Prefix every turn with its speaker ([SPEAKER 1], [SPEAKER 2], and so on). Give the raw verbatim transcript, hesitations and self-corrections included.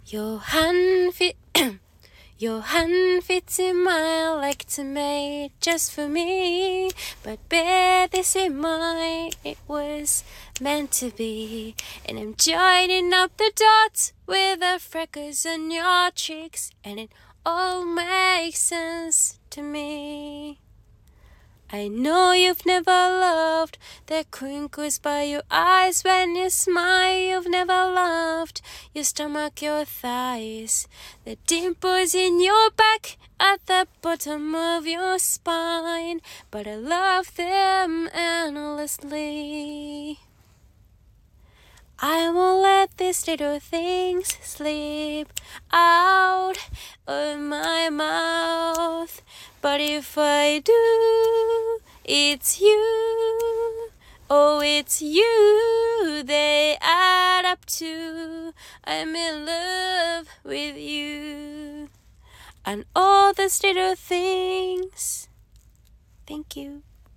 [SPEAKER 1] Your hand fit Your hand fits in mine like it's made just for me. But bear this in mind, it was meant to be. And I'm joining up the dots with the freckles on your cheeks, and it all makes sense to me. I know you've never loved the crinkles by your eyes when you smile. You've never loved your stomach, your thighs, the dimples in your back at the bottom of your spine. But I love them endlessly. I won't let these little things slip out of my mouth. But if I do, it's you. Oh, it's you they add up to. I'm in love with you. And all those little things. Thank you.